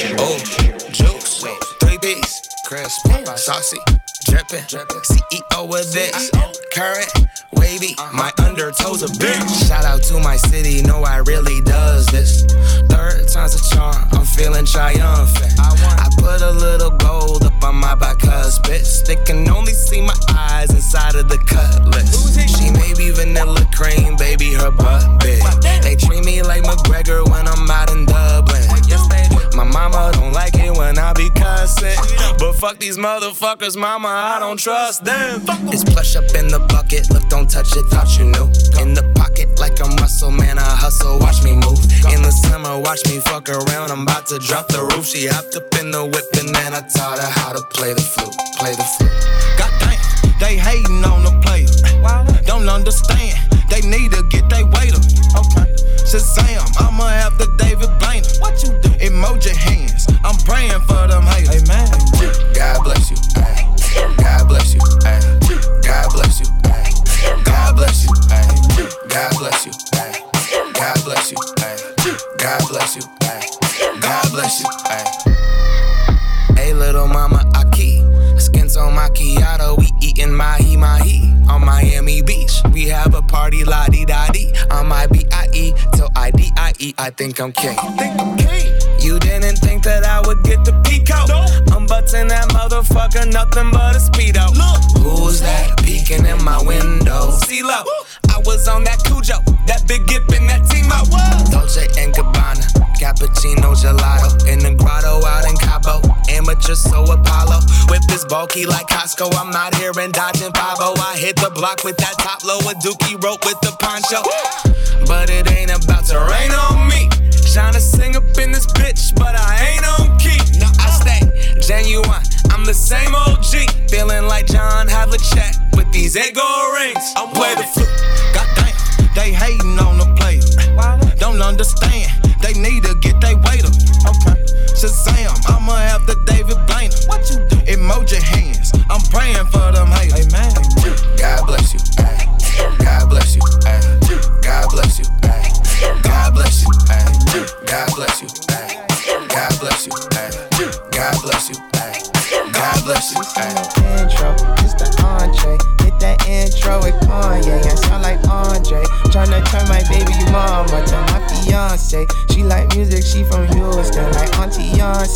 Juice, three B's, crisp, saucy, drippin', C E O of this, current, wavy, my undertoes a bitch. Shout out to my city, know I really does this. Third time's a charm, I'm feeling triumphant. I put a little gold up on my bicuspid. They can only see my eyes inside of the cutlass. She may be vanilla cream, baby, her butt big. They treat me like McGregor when I'm out in Dublin. My mama don't like it when I be cussing, but fuck these motherfuckers, mama, I don't trust them. It's plush up in the bucket, look, don't touch it, thought you knew. In the pocket like I'm Russell, man, I hustle, watch me move. In the summer, watch me fuck around, I'm about to drop the roof. She hopped up in the whip and then I taught her how to play the flute, play the flute. Goddamn, they hating on the player, don't understand, they need to get they weight up. Okay. Shazam, I'ma have the David Blaine. What you do? Emoji hands, I'm praying for them haters. Amen. God bless you. Ay. God bless you. Ay. God bless you. Ay. God bless you. Ay. God bless you. Ay. God bless you. Ay. God bless you. Ay. God bless you. Ay. Hey, little mama, Aki. Skins on macchiato, we eatin' mahi mahi on Miami Beach. We have a party la-di-da-di on my B I E till I D I E. I think I'm king. Think I'm king. You didn't think that I would get the peek out? No. I'm butting that motherfucker, nothing but a speedo. Look, who's that peeking in my window? C-Lo, I was on that Cujo, that big gip in that T-Mo. Dolce and Gabbana, cappuccino gelato in the grotto out in Cabo. Amateur so Apollo, whip is bulky like Costco. I'm out here and dodging five oh. I hit the block with that top low, a dookie rope with the poncho. But it ain't about to rain on me. Tryna sing up in this bitch, but I ain't on key. No, I stay genuine, I'm the same O G. Feeling like John Havlicek with these ego rings. I'm play the flute. Goddamn, they hating on the player. Don't understand, they need to get they weight up. Okay. Shazam, I'ma have the David Blaine. What you do? Emoji hands, I'm praying for them haters. Amen. God bless you. Ay. God bless you. Ay. God bless you. Ay.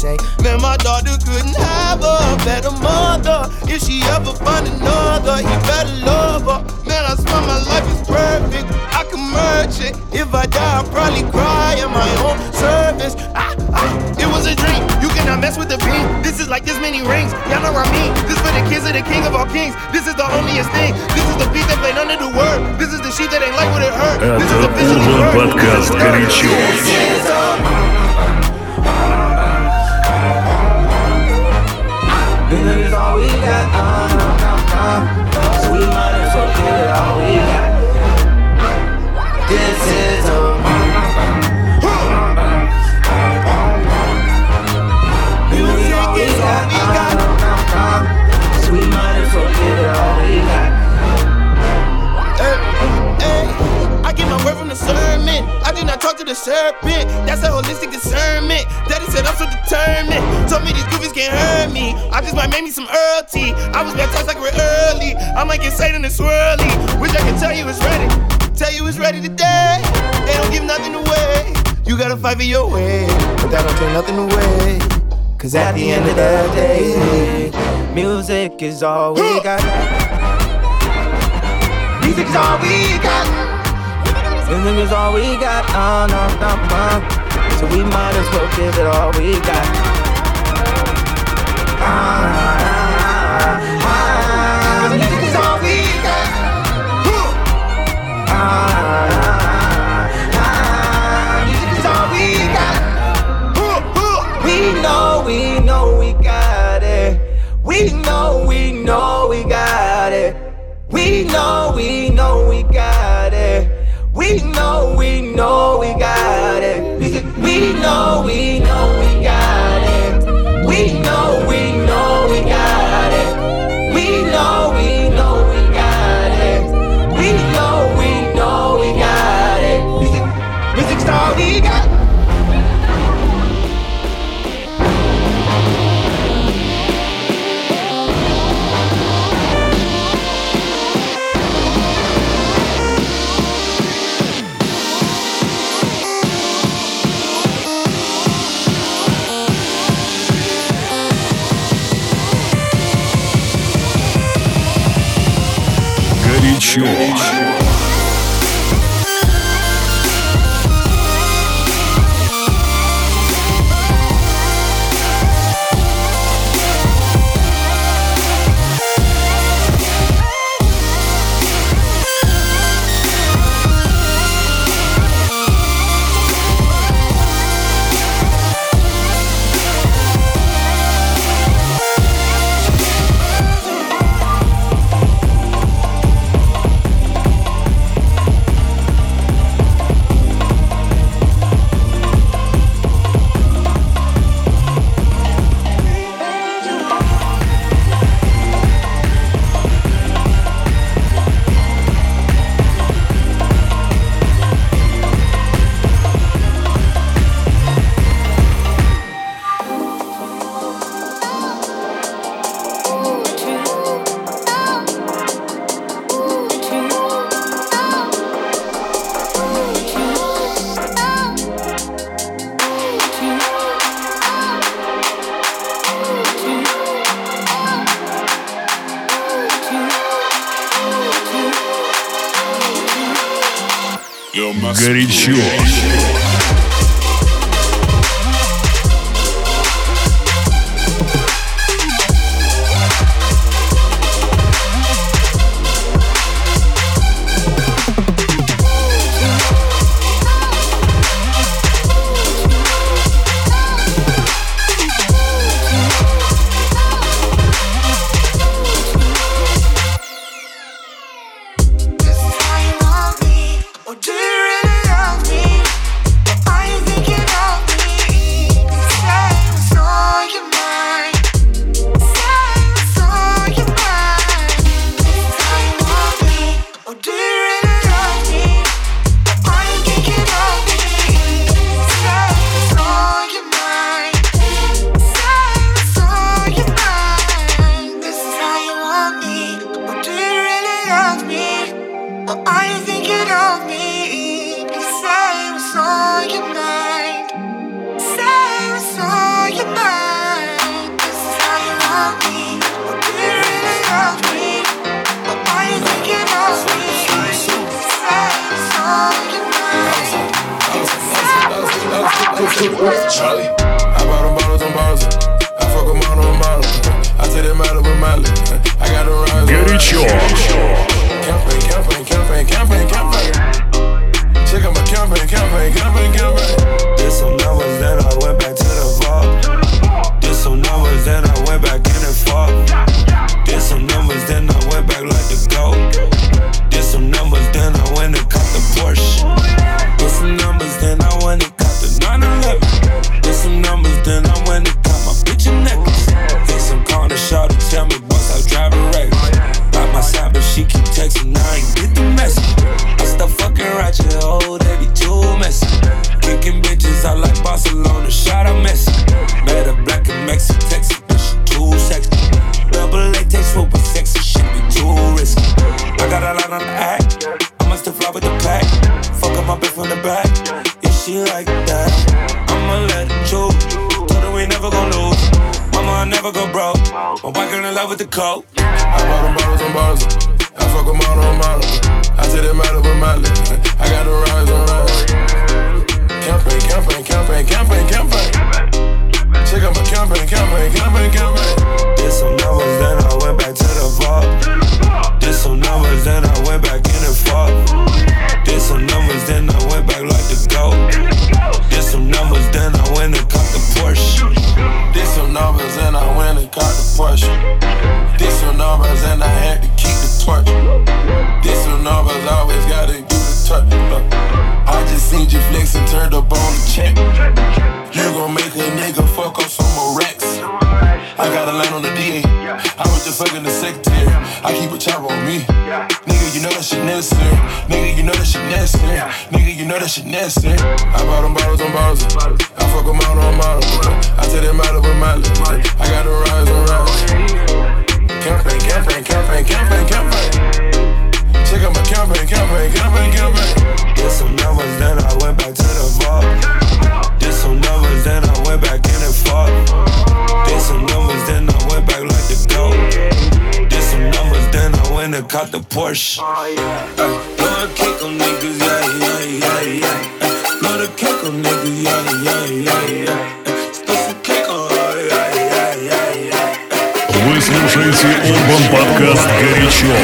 say, man, my daughter couldn't have a better mother. If she ever find another, he better love her. Man, I swear my life is perfect, I can merge it. If I die, I'll probably cry in my own service. Ah, ah, it was a dream, you cannot mess with the beam. This is like this many rings, y'all know what I mean. This for the kids of the king of all kings. This is the holiest thing. This is the beat that played under the word. This is the sheep that ain't like what it hurt. This is officially Это подкаст «Горячо». This is all we got, uh, uh, uh. So we might as well give it all we got. This is all. Music is all we got. So we might as well give it all we got. Hey, hey, I get my word from the sermon. I did not talk to the serpent. That's a holistic discernment. Daddy said I'm so determined. Told me these goofies can't hurt me. I just might make me some Earl tea. I was baptized like we're early. I might get Satan and swirly. Wish I could tell you it's ready. Tell you it's ready today. They don't give nothing away. You gotta fight for your way, but that don't take nothing away. Cause at the end of the day, music is all we got. Music is all we got. Music is all we got. Uh, no, no, no. So we might as well give it all we got. Ah, ah, ah, ah. Music is all we got. Ah, ah, ah. Music is all we got. We know, we know we got it. We know, we know we got it. We know, we know we got it. We know, we know we got it. We know, we know we got it. We know, we know we got it. We know, we know we got it. We know, we know we got it. Music, music's all we got. Горячо. Горячо. Say what's on your mind. Charlie. I bought them bottles on bottles. I fuck them all on bottles. I take that matter with Miley. I got the rise. Горячо. Campaign, campaign, campaign, campaign, campaign. Check out my campaign, campaign, campaign, campaign. Did some numbers, then I went back to the vault. Did some numbers, then I went back in and fought. Did some numbers, then I went back like the GOAT. Did some numbers, then I went and caught the Porsche. Did some numbers, then I went and caught the nine eleven. Did some numbers, then I went and caught my bitch a necklace. Hit some corner shot to tell me boss I was driving reckless. By my side, but she keep texting, I ain't get the message. I stop fucking ratchet, oh, they be too messy. Kicking bitches out like Barcelona, shot a Messi. Met a black and Mexican, Texas, bitch, she too sexy. Double latex rope with sexy shit be too risky. I got a lot on the act, I must have fly with the pack. Fuck up my bitch from the back, yeah, she like that. I'ma let it choose, told her we never gon' lose. Mama, I never go broke, my white girl in love with the coke. I bought them bottles on bottles, I fuck them all on bottles. I take that matter with Miley, I got the rise on rise. Campaign, campaign, campaign, campaign, campaign. Check out my campaign, campaign, campaign, campaign. Did some numbers, then I went back to the vault. Did some numbers, then I went back in and fought. Did some numbers, then I went back like the GOAT. Did some numbers, then I went and caught the Porsche. Did some numbers, and I went and caught the Porsche. Did some numbers, and I had to keep the torch. Did some numbers, always gotta give the touch. Look, I just seen you flex and turned up on the check. You gon' make a nigga fuck up some more racks. I got a line on the D A. I was just fucking the secretary. I keep a chopper on me. Nigga, you know that shit necessary. Nigga, you know that shit necessary. Nigga, you know that shit necessary. I bought them bottles on bottles. I fuck them out on bottles. I take that matter with Miley. I got the rise on rise. Campaign, campaign, campaign, campaign, campaign. Check out my campaign, campaign, campaign, campaign. Did some numbers, then I went back to the vault. Did some numbers, then I went back in and fought. Did some numbers, then I went back like the GOAT. Did some numbers, then I went and caught the Porsche. Ay, blow the cake on niggas, yeah, yeah, yeah, yeah. Blow the cake on niggas, yeah, yeah, yeah, yeah. Spill some cake on, yeah, yeah, yeah, yeah. Вы слушаете Urban подкаст «Горячо».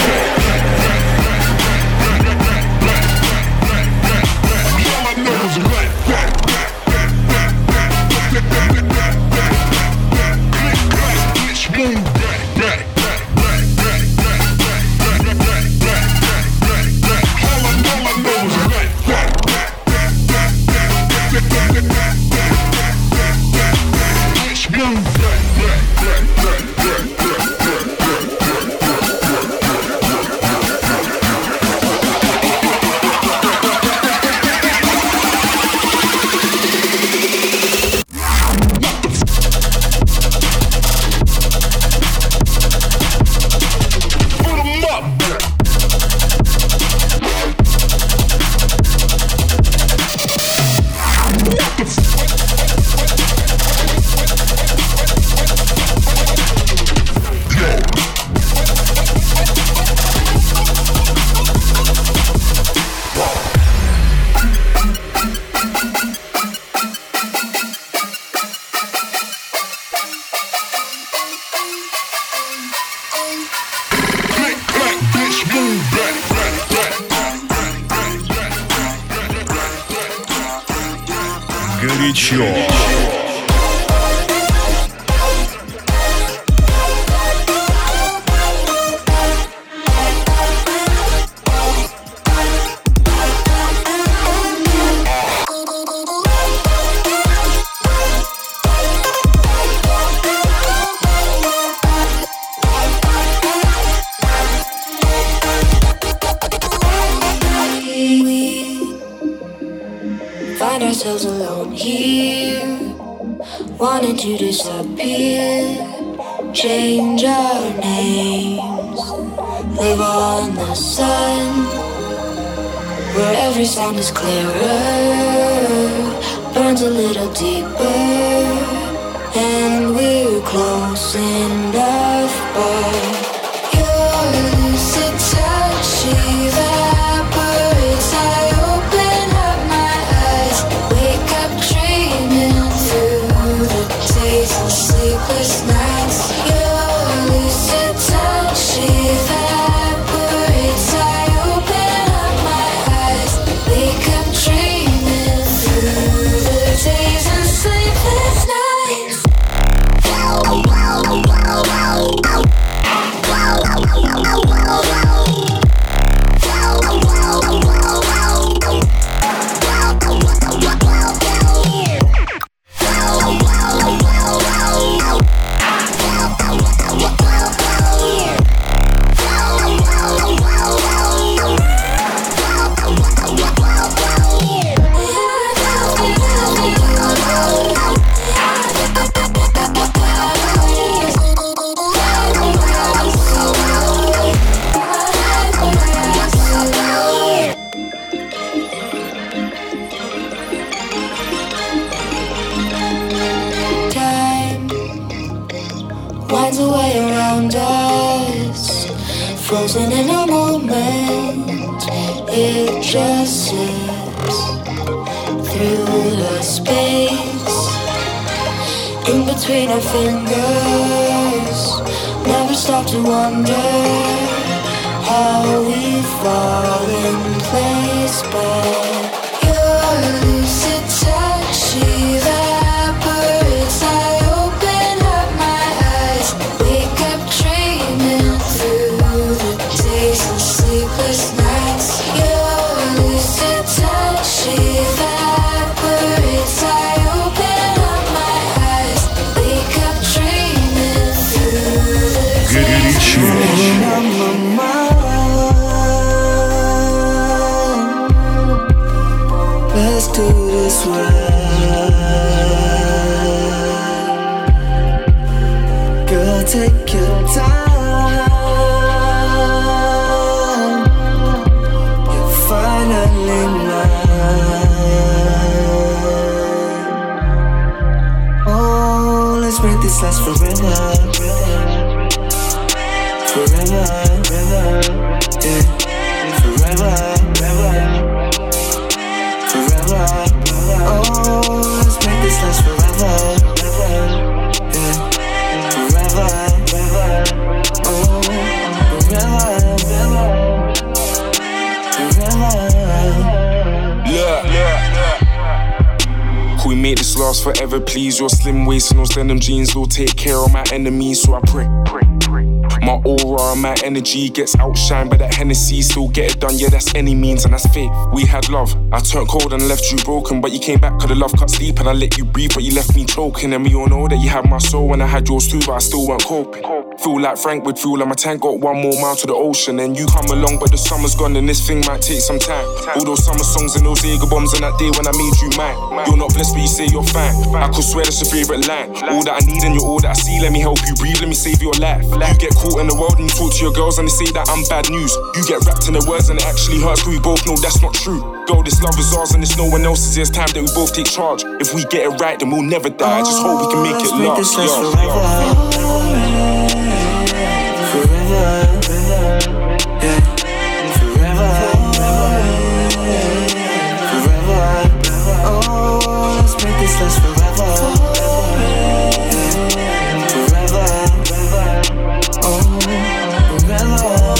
Горячо. Find ourselves alone here, wanting to disappear, change our names, live on the sun, where every sound is clearer, burns a little deeper, and we're close enough, but your lucid touch evaporates. I open up my eyes, wake up dreaming. moment, it just slips through the space in between our fingers. Never stop to wonder how we fall in place, but your lucid touch evaporates. I open up my eyes, wake up dreaming through the days and sleepless nights. Your lucid touch evaporates. I open up my eyes, wake up dreaming through the days. Let's do this right. Girl, take your time. You're finally mine. Oh, let's make this last forever. Forever, yeah. Forever, forever. Forever, oh, let's make this last forever, yeah. Forever, oh, forever, forever. Look, can we make this last forever, please? Your slim waist and those denim jeans will take care of my enemies, so I pray. My aura and my energy gets outshined by that Hennessy. Still get it done, yeah, that's any means, and that's faith. We had love, I turned cold and left you broken, but you came back cause the love cut sleep and I let you breathe, but you left me choking. And we all know that you had my soul and I had yours too, but I still weren't coping. Feel like Frank with fuel and my tank got one more mile to the ocean. And you come along, but the summer's gone and this thing might take some time. All those summer songs and those Jaeger bombs and that day when I made you mine. You're not blessed, but you say you're fine. I could swear that's your favorite line. All that I need and you're all that I see. Let me help you breathe, let me save your life. You get caught in the world and you talk to your girls and they say that I'm bad news. You get wrapped in the words and it actually hurts, but we both know that's not true. Girl, this love is ours and it's no one else's. It's time that we both take charge. If we get it right, then we'll never die. I just hope we can make it last. Forever, yeah. Forever, forever. Oh, let's make this last forever. Forever, oh, forever,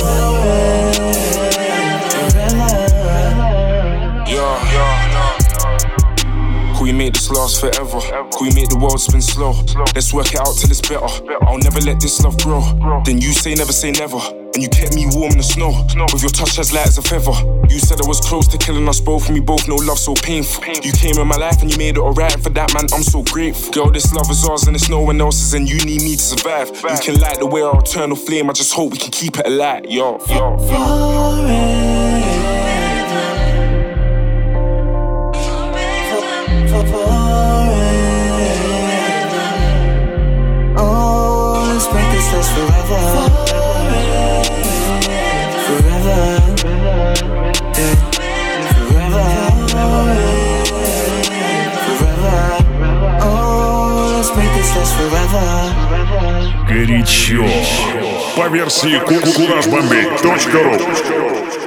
forever. Yeah, yeah. Can we make this last forever? Can we make the world spin slow? Let's work it out till it's better. I'll never let this love grow. Then you say never say never, and you kept me warm in the snow with your touch as light as a feather. You said I was close to killing us both, and we both know love so painful. You came in my life and you made it alright, and for that, man, I'm so grateful. Girl, this love is ours and it's no one else's, and you need me to survive. You can light the way our eternal flame. I just hope we can keep it alight, yo, yo, yo. Oh, let's make this last forever. Forever, yeah. Forever, forever. Oh, let's make this last forever. Горячо. По версии кураж бомбей точка ру.